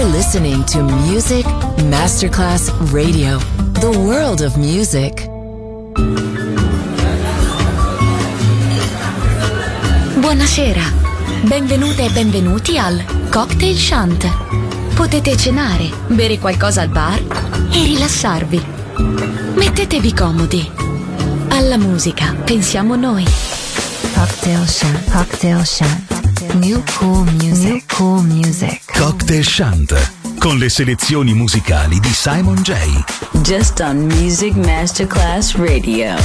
You're listening to Music Masterclass Radio, the world of music. Buonasera, benvenute e benvenuti al Cocktail Shant. Potete cenare, bere qualcosa al bar e rilassarvi. Mettetevi comodi. Alla musica pensiamo noi. Cocktail Shant. Cocktail Shant. New cool music. New cool music. Cocktail Shant, con le selezioni musicali di Simon J. Just on Music Masterclass Radio.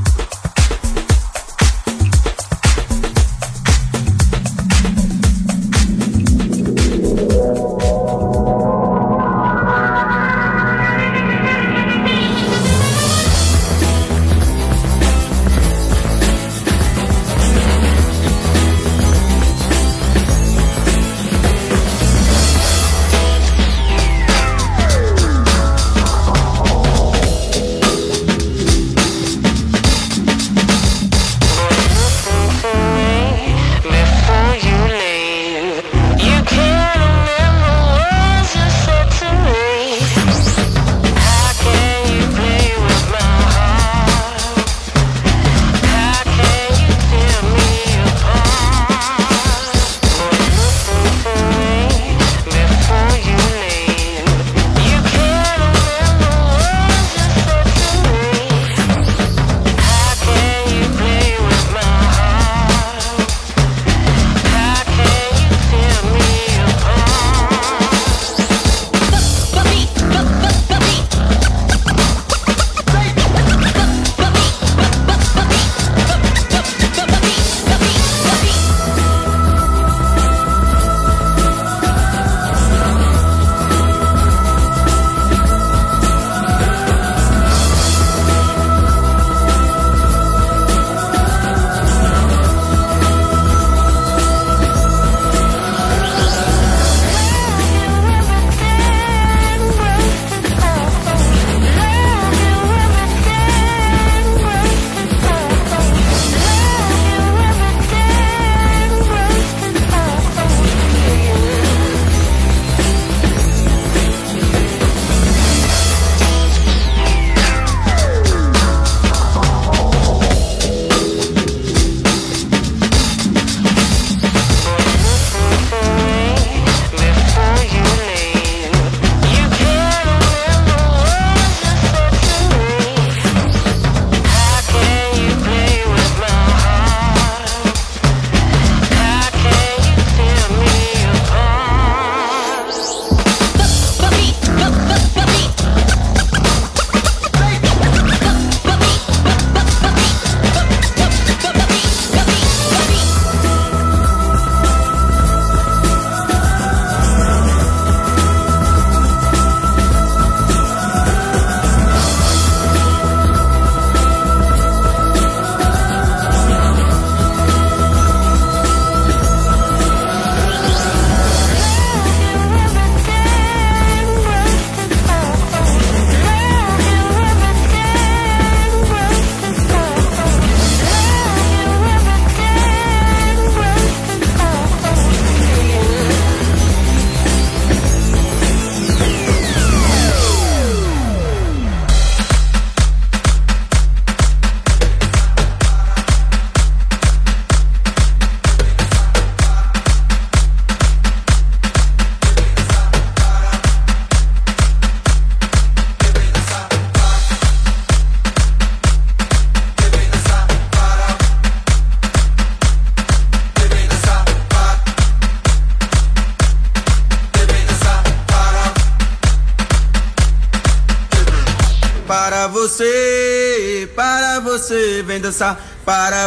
Vem dançar para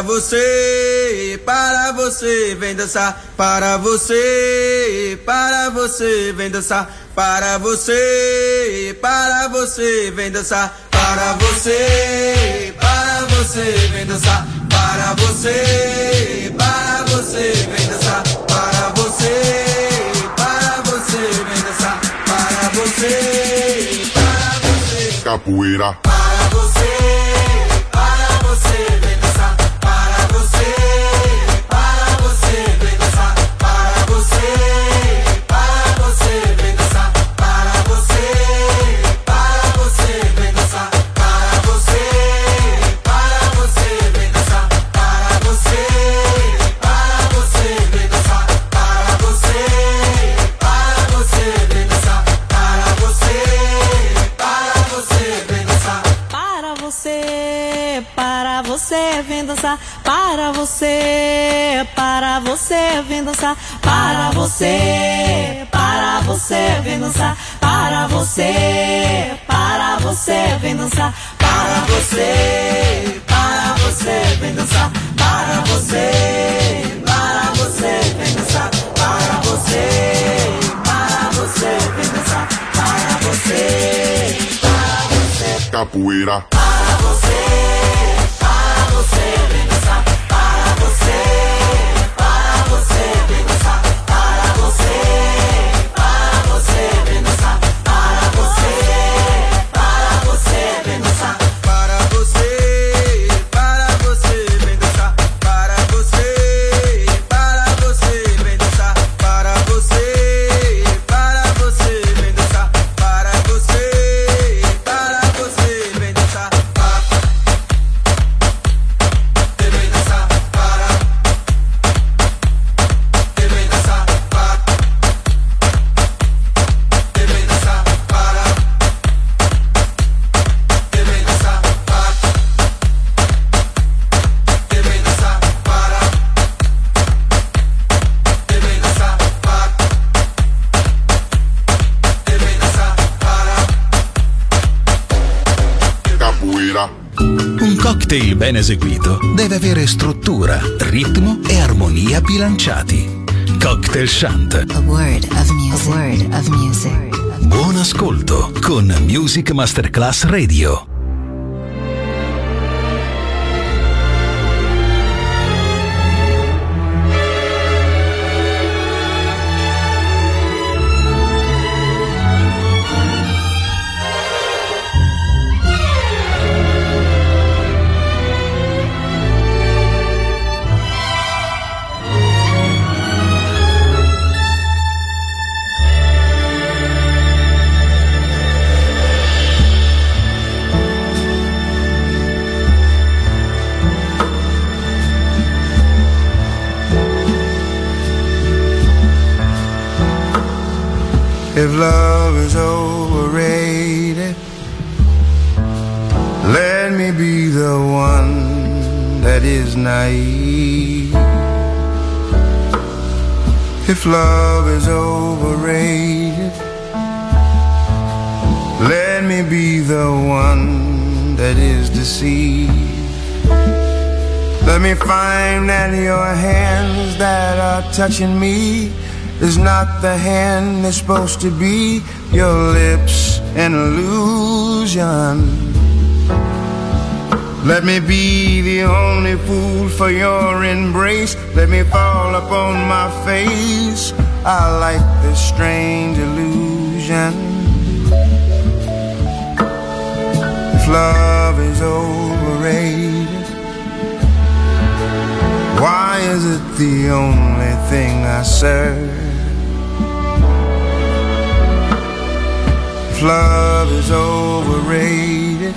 você, vem dançar para você, vem dançar para você, vem dançar para você, vem dançar para você, vem dançar para você, vem dançar para você, capoeira. Vem dançar dançar para você, vem dançar para você, vem dançar para você, vem dançar para você, vem dançar para você, vem dançar para você, vem dançar para você, capoeira. Para você, vem dançar para você, vem dançar para você, vem dançar para você, vem dançar Para você, vem dançar para você, vem dançar para você, vem dançar para você, vem dançar capoeira. Un cocktail ben eseguito deve avere struttura, ritmo e armonia bilanciati. Cocktail Chant. A word of music. A word of music. Buon ascolto con Music Masterclass Radio. If love is overrated, let me be the one that is naive. If love is overrated, let me be the one that is deceived. Let me find that your hands that are touching me is not the hand that's supposed to be. Your lips an illusion. Let me be the only fool for your embrace. Let me fall upon my face. I like this strange illusion. If love is overrated, why is it the only thing I serve? If love is overrated,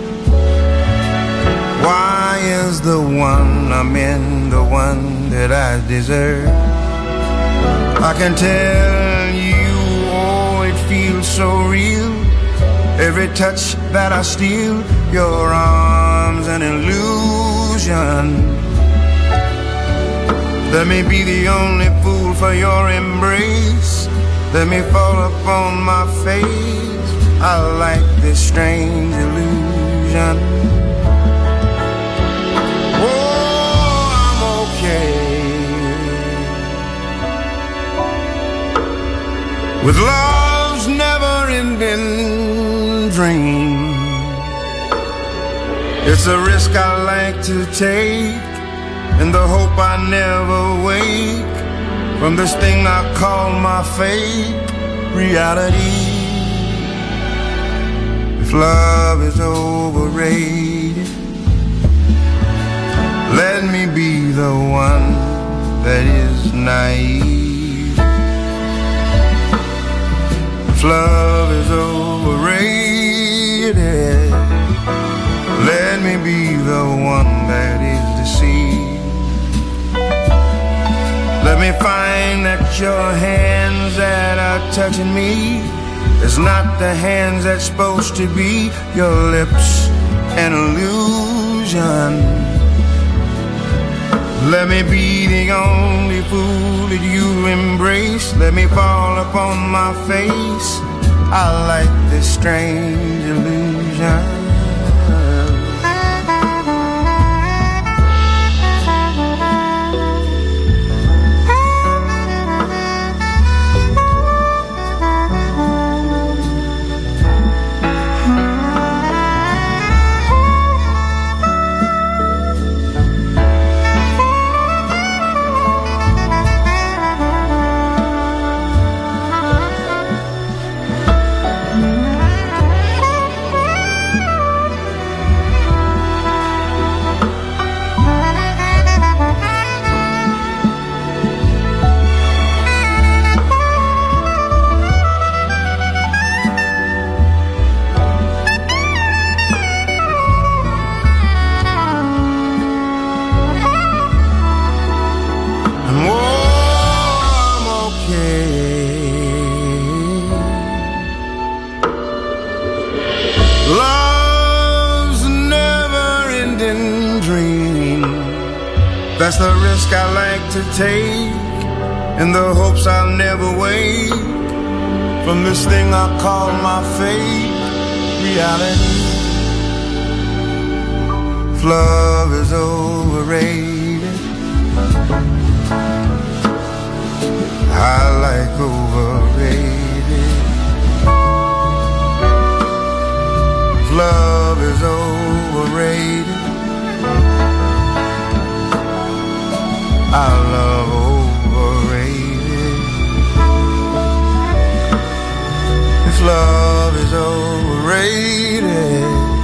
why is the one I'm in the one that I deserve? I can tell you, oh, it feels so real. Every touch that I steal, your arms an illusion. Let me be the only fool for your embrace. Let me fall upon my face. I like this strange illusion. Oh, I'm okay with love's never-ending dream. It's a risk I like to take, in the hope I never wake from this thing I call my fate, reality. If love is overrated, let me be the one that is naive. If love is overrated, let me be the one that is deceived. Let me find that your hands that are touching me is not the hands that's supposed to be. Your lips an illusion. Let me be the only fool that you embrace. Let me fall upon my face. I like this strange illusion. That's the risk I like to take, in the hopes I'll never wake from this thing I call my fate, reality. If love is overrated, I like overrated. If love is overrated, I love overrated. If love is overrated,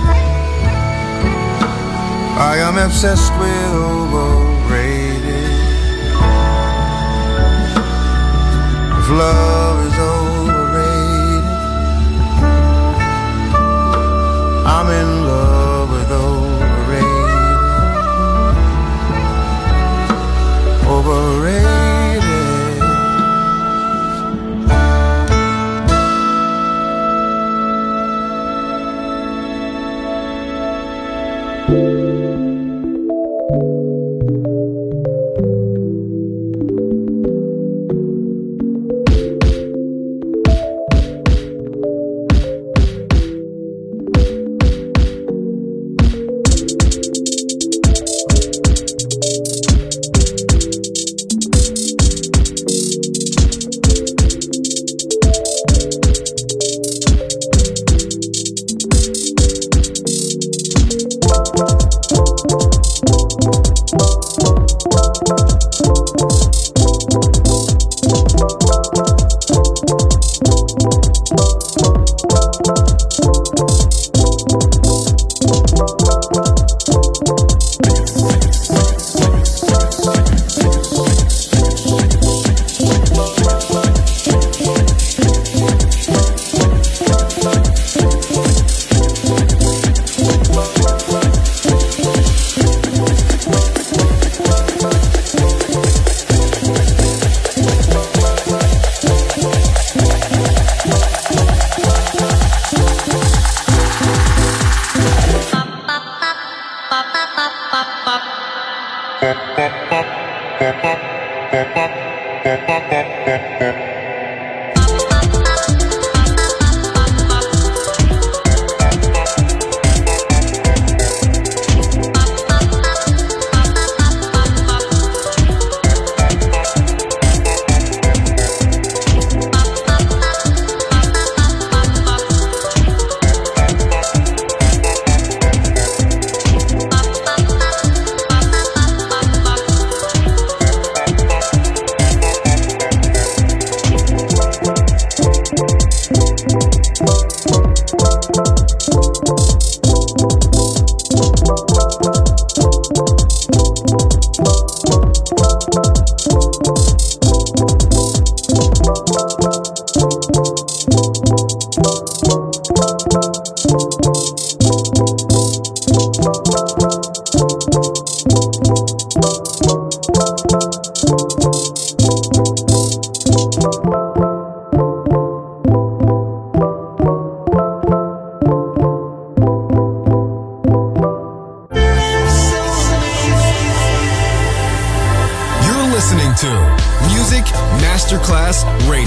I am obsessed with overrated. If love is overrated, I'm in love with overrated. Overrated.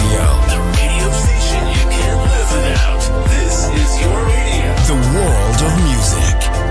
Radio. The radio station you can't live without. This is your radio. The world of music.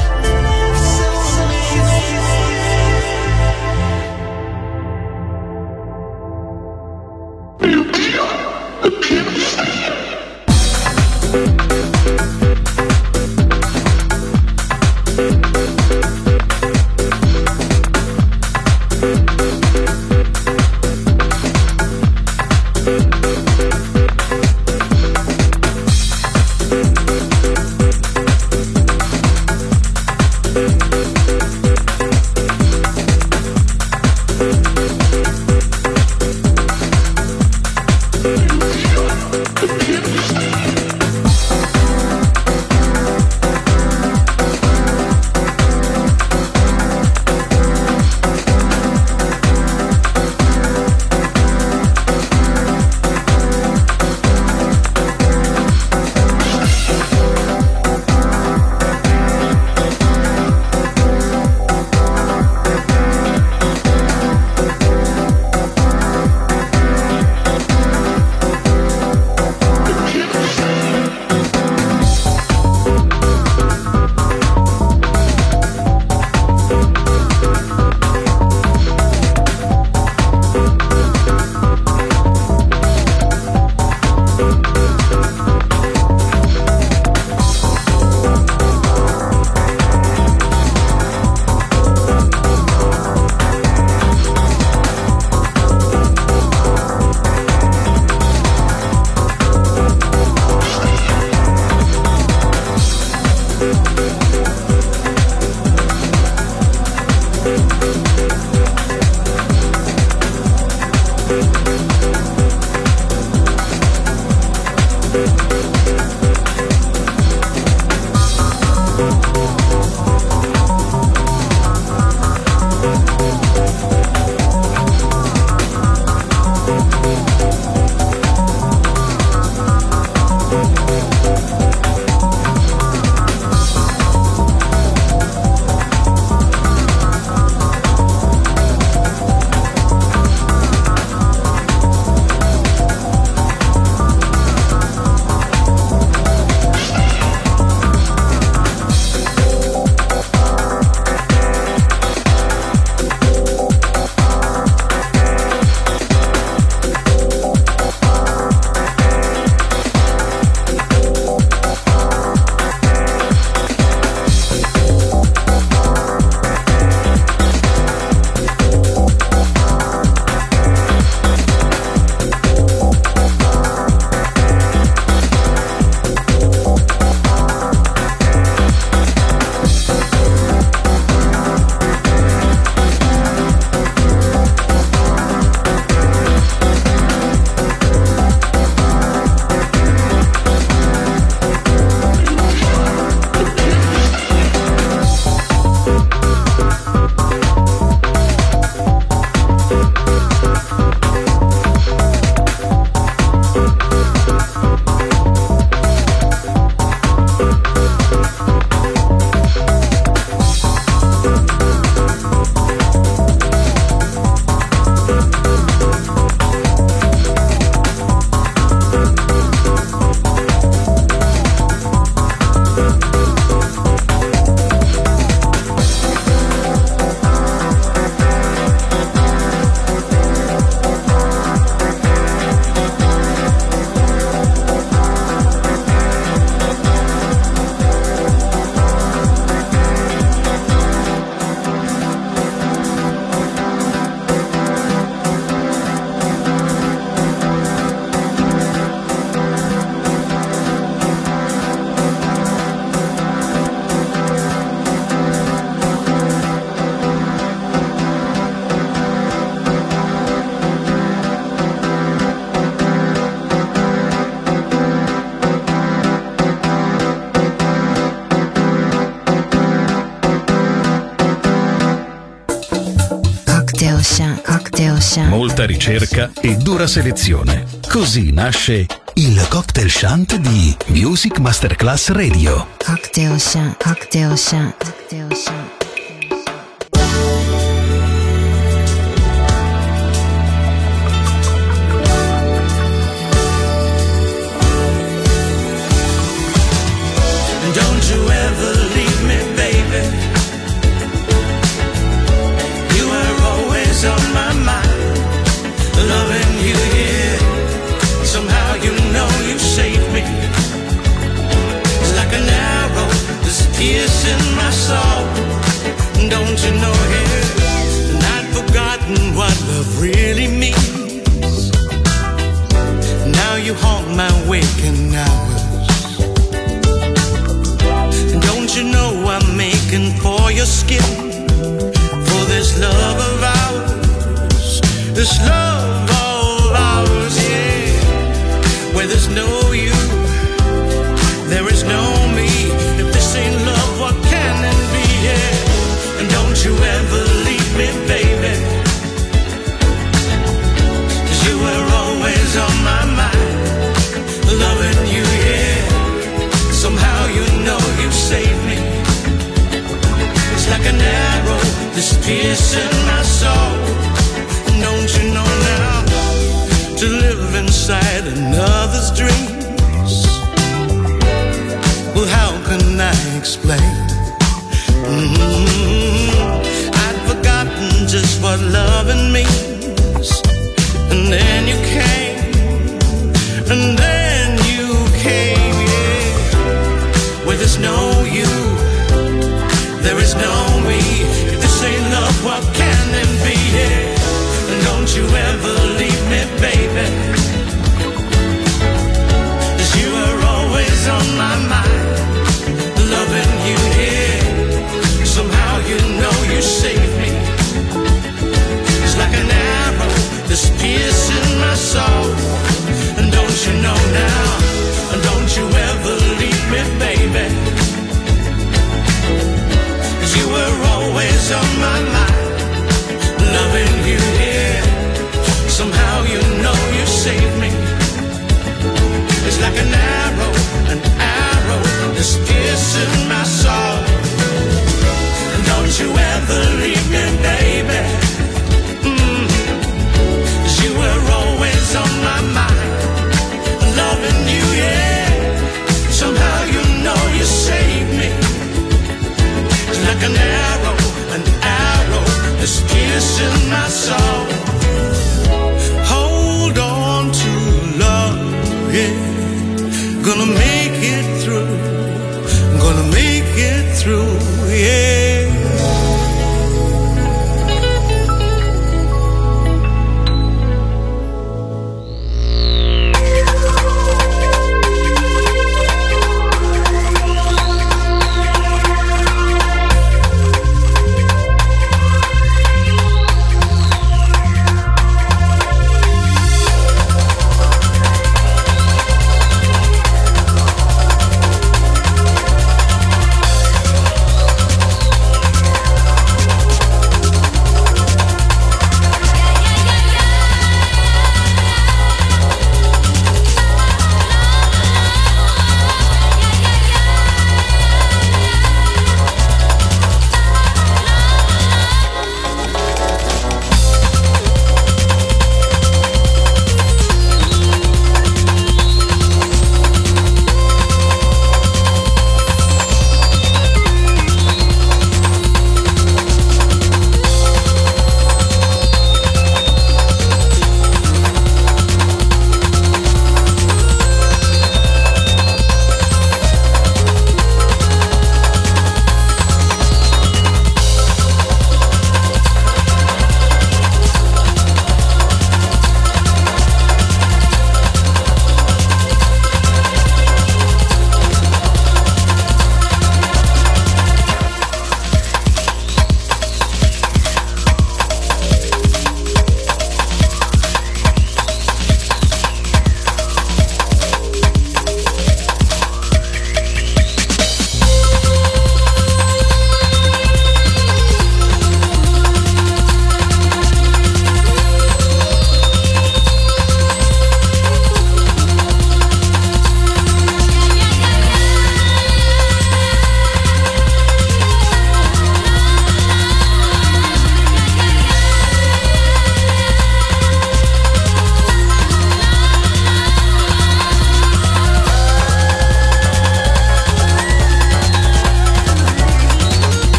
Molta ricerca e dura selezione. Così nasce il Cocktail Shant di Music Masterclass Radio. Cocktail Shant, Cocktail Shant, Cocktail Shant. my waking hours. And don't you know I'm making for your skin, for this love of ours, this love of ours, yeah. Where there's no you, there is no me. If this ain't love, what can it be, yeah. And don't you ever leave me, baby, 'cause you were always on my mind, loving you, yeah. Somehow you know you saved me. It's like an arrow that's piercing my soul. Don't you know now, to live inside another's dreams, well, how can I explain? I'd forgotten just what loving means. And then you came, and then you came, yeah. Where there's no you, there is no me. If this ain't love, what can it be, yeah. And don't you ever leave me, baby, 'cause you are always on my mind, loving you, yeah. Somehow you know you saved me. It's like an arrow that's piercing my soul. And don't you know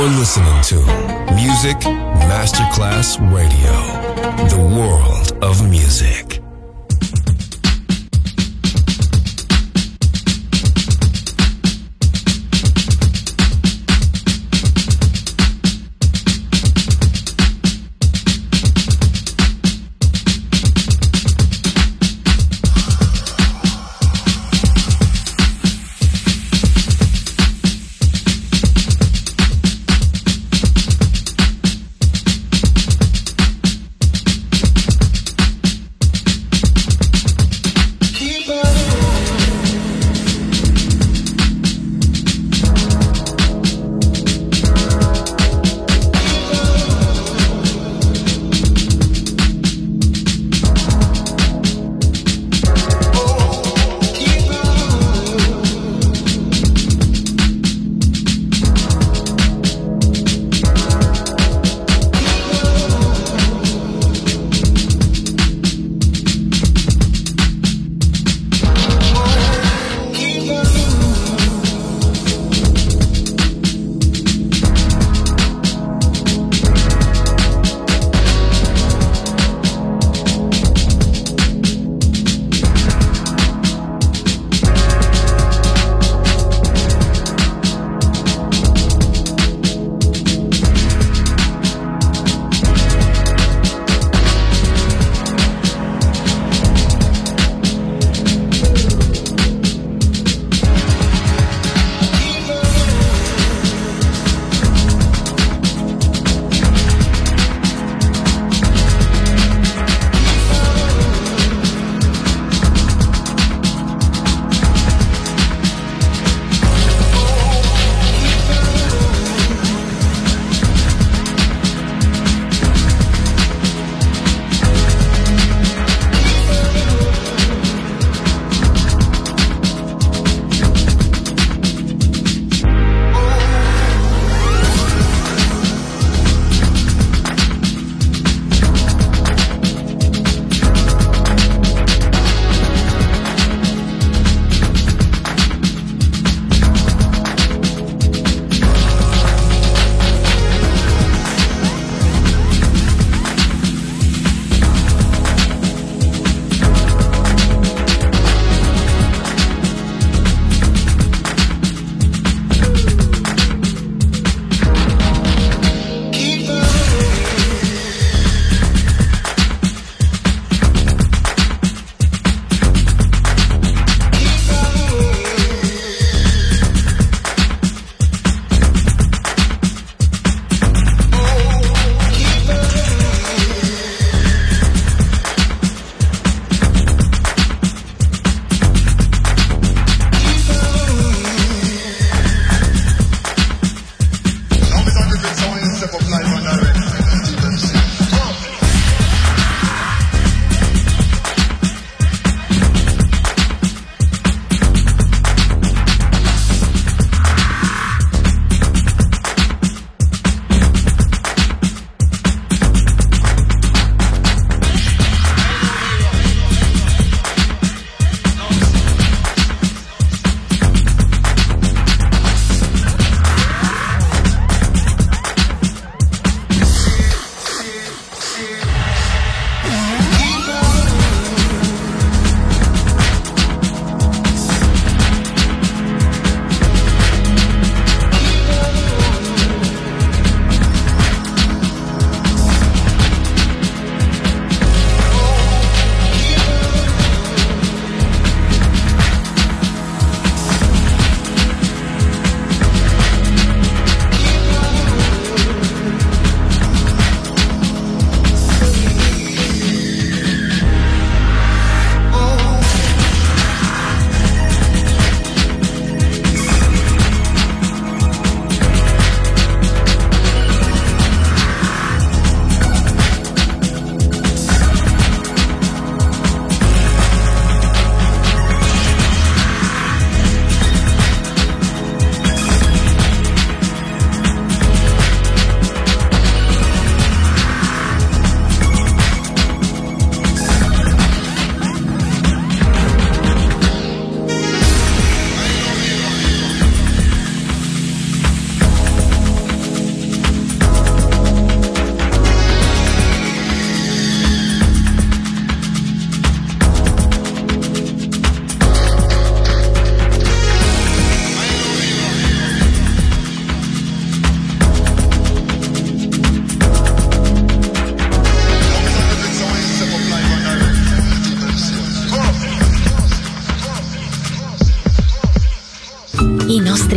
You're listening to Music Masterclass Radio, the world of music.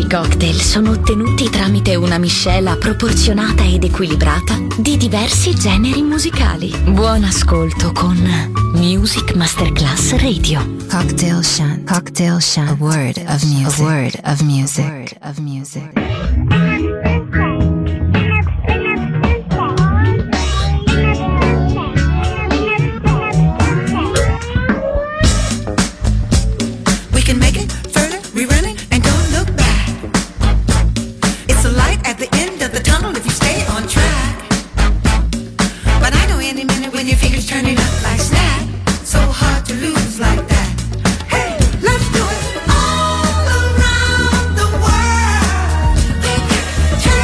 nostri cocktail sono ottenuti tramite una miscela proporzionata ed equilibrata di diversi generi musicali. Buon ascolto con Music Masterclass Radio. Cocktail Shunt. Cocktail Shunt. A word of music. A word of music. A word of music. We can make it further, we run it and don't look back. It's a light at the end of the tunnel if you stay on track. But I know any minute when your fingers turn it up like snap. So hard to lose like that. Hey, let's do it all around the world.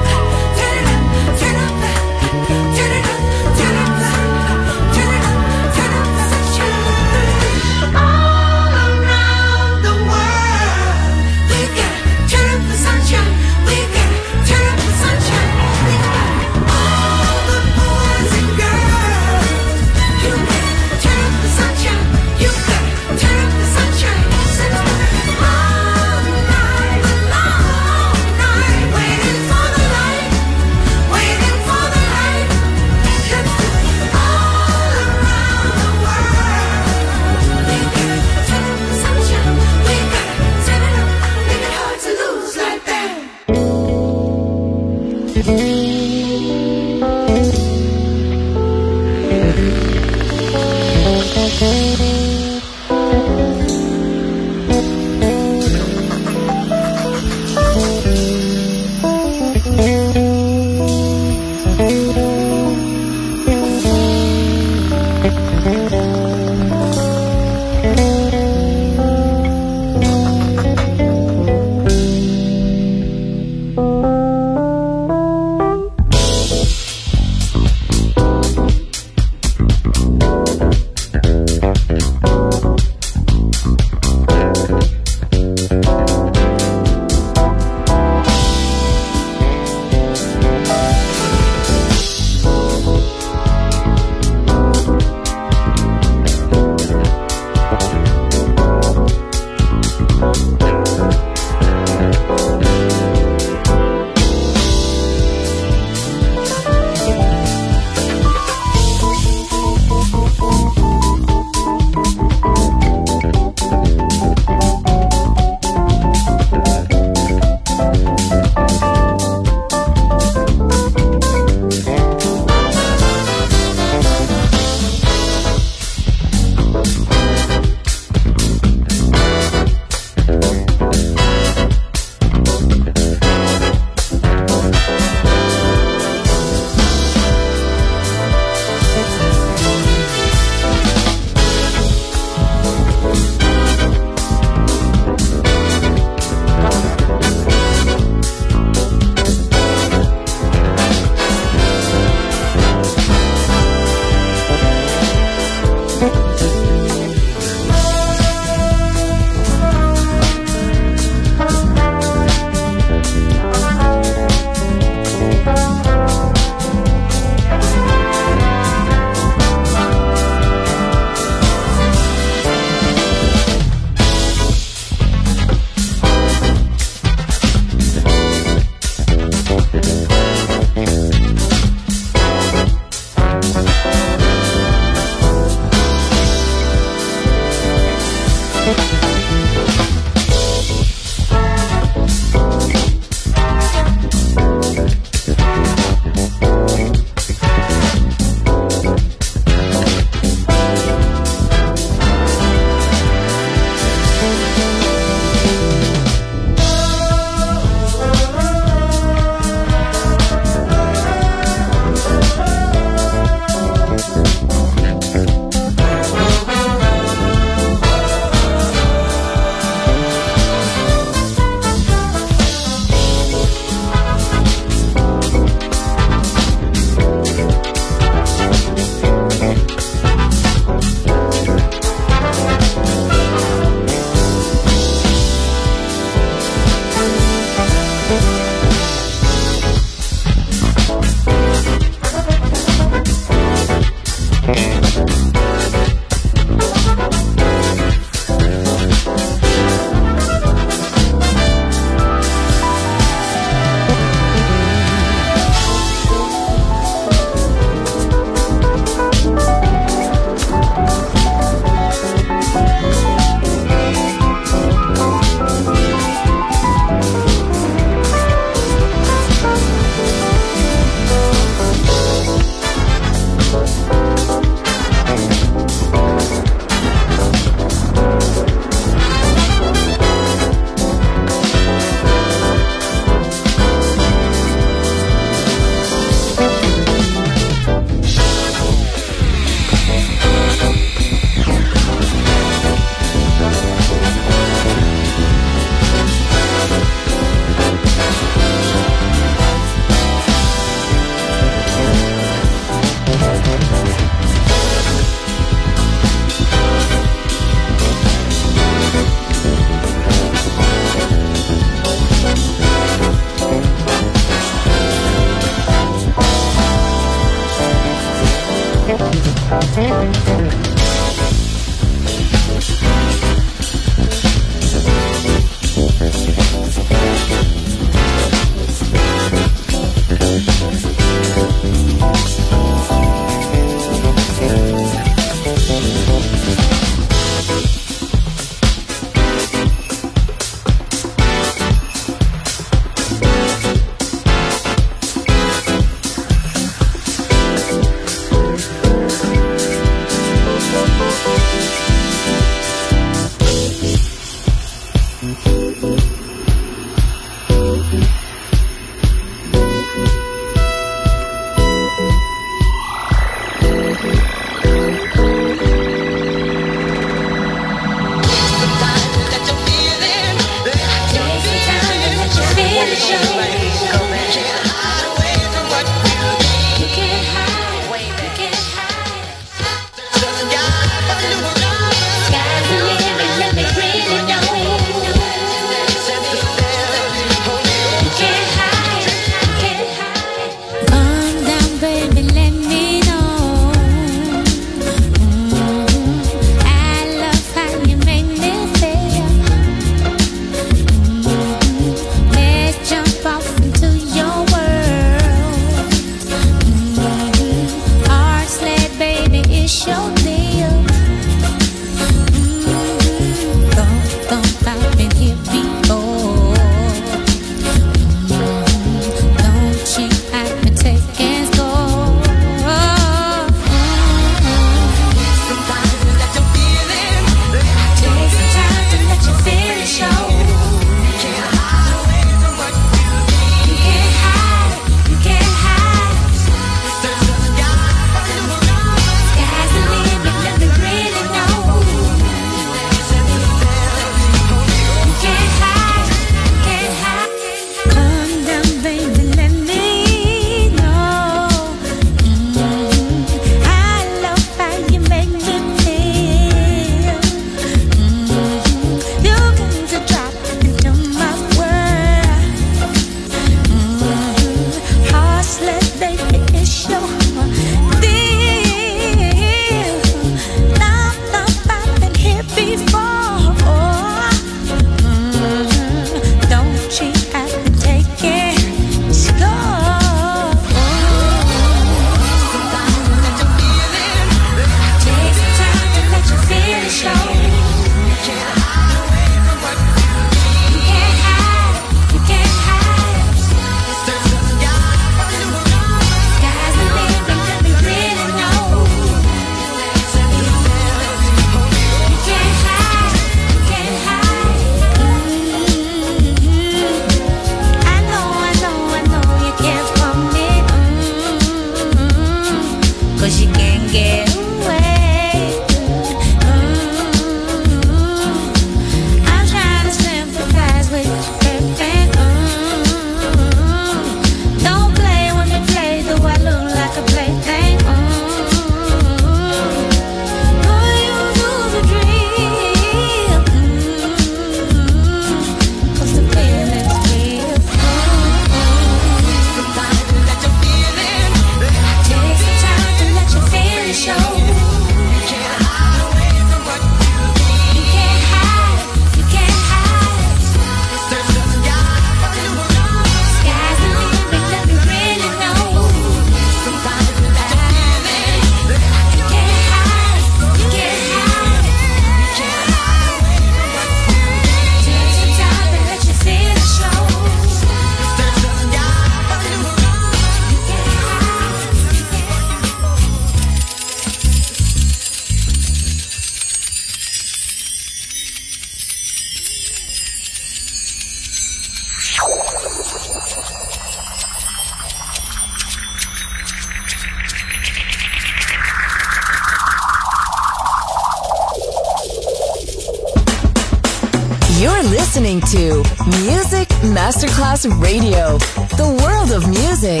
You're listening to Music Masterclass Radio, the world of music.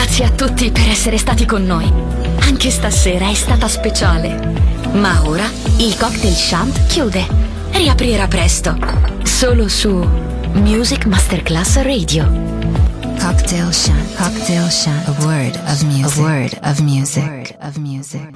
Grazie a tutti per essere stati con noi. Anche stasera è stata speciale. Ma ora il Cocktail Shant chiude. Riaprirà presto. Solo su Music Masterclass Radio. Cocktail Shant. Cocktail Shant. A word of music. A word of music.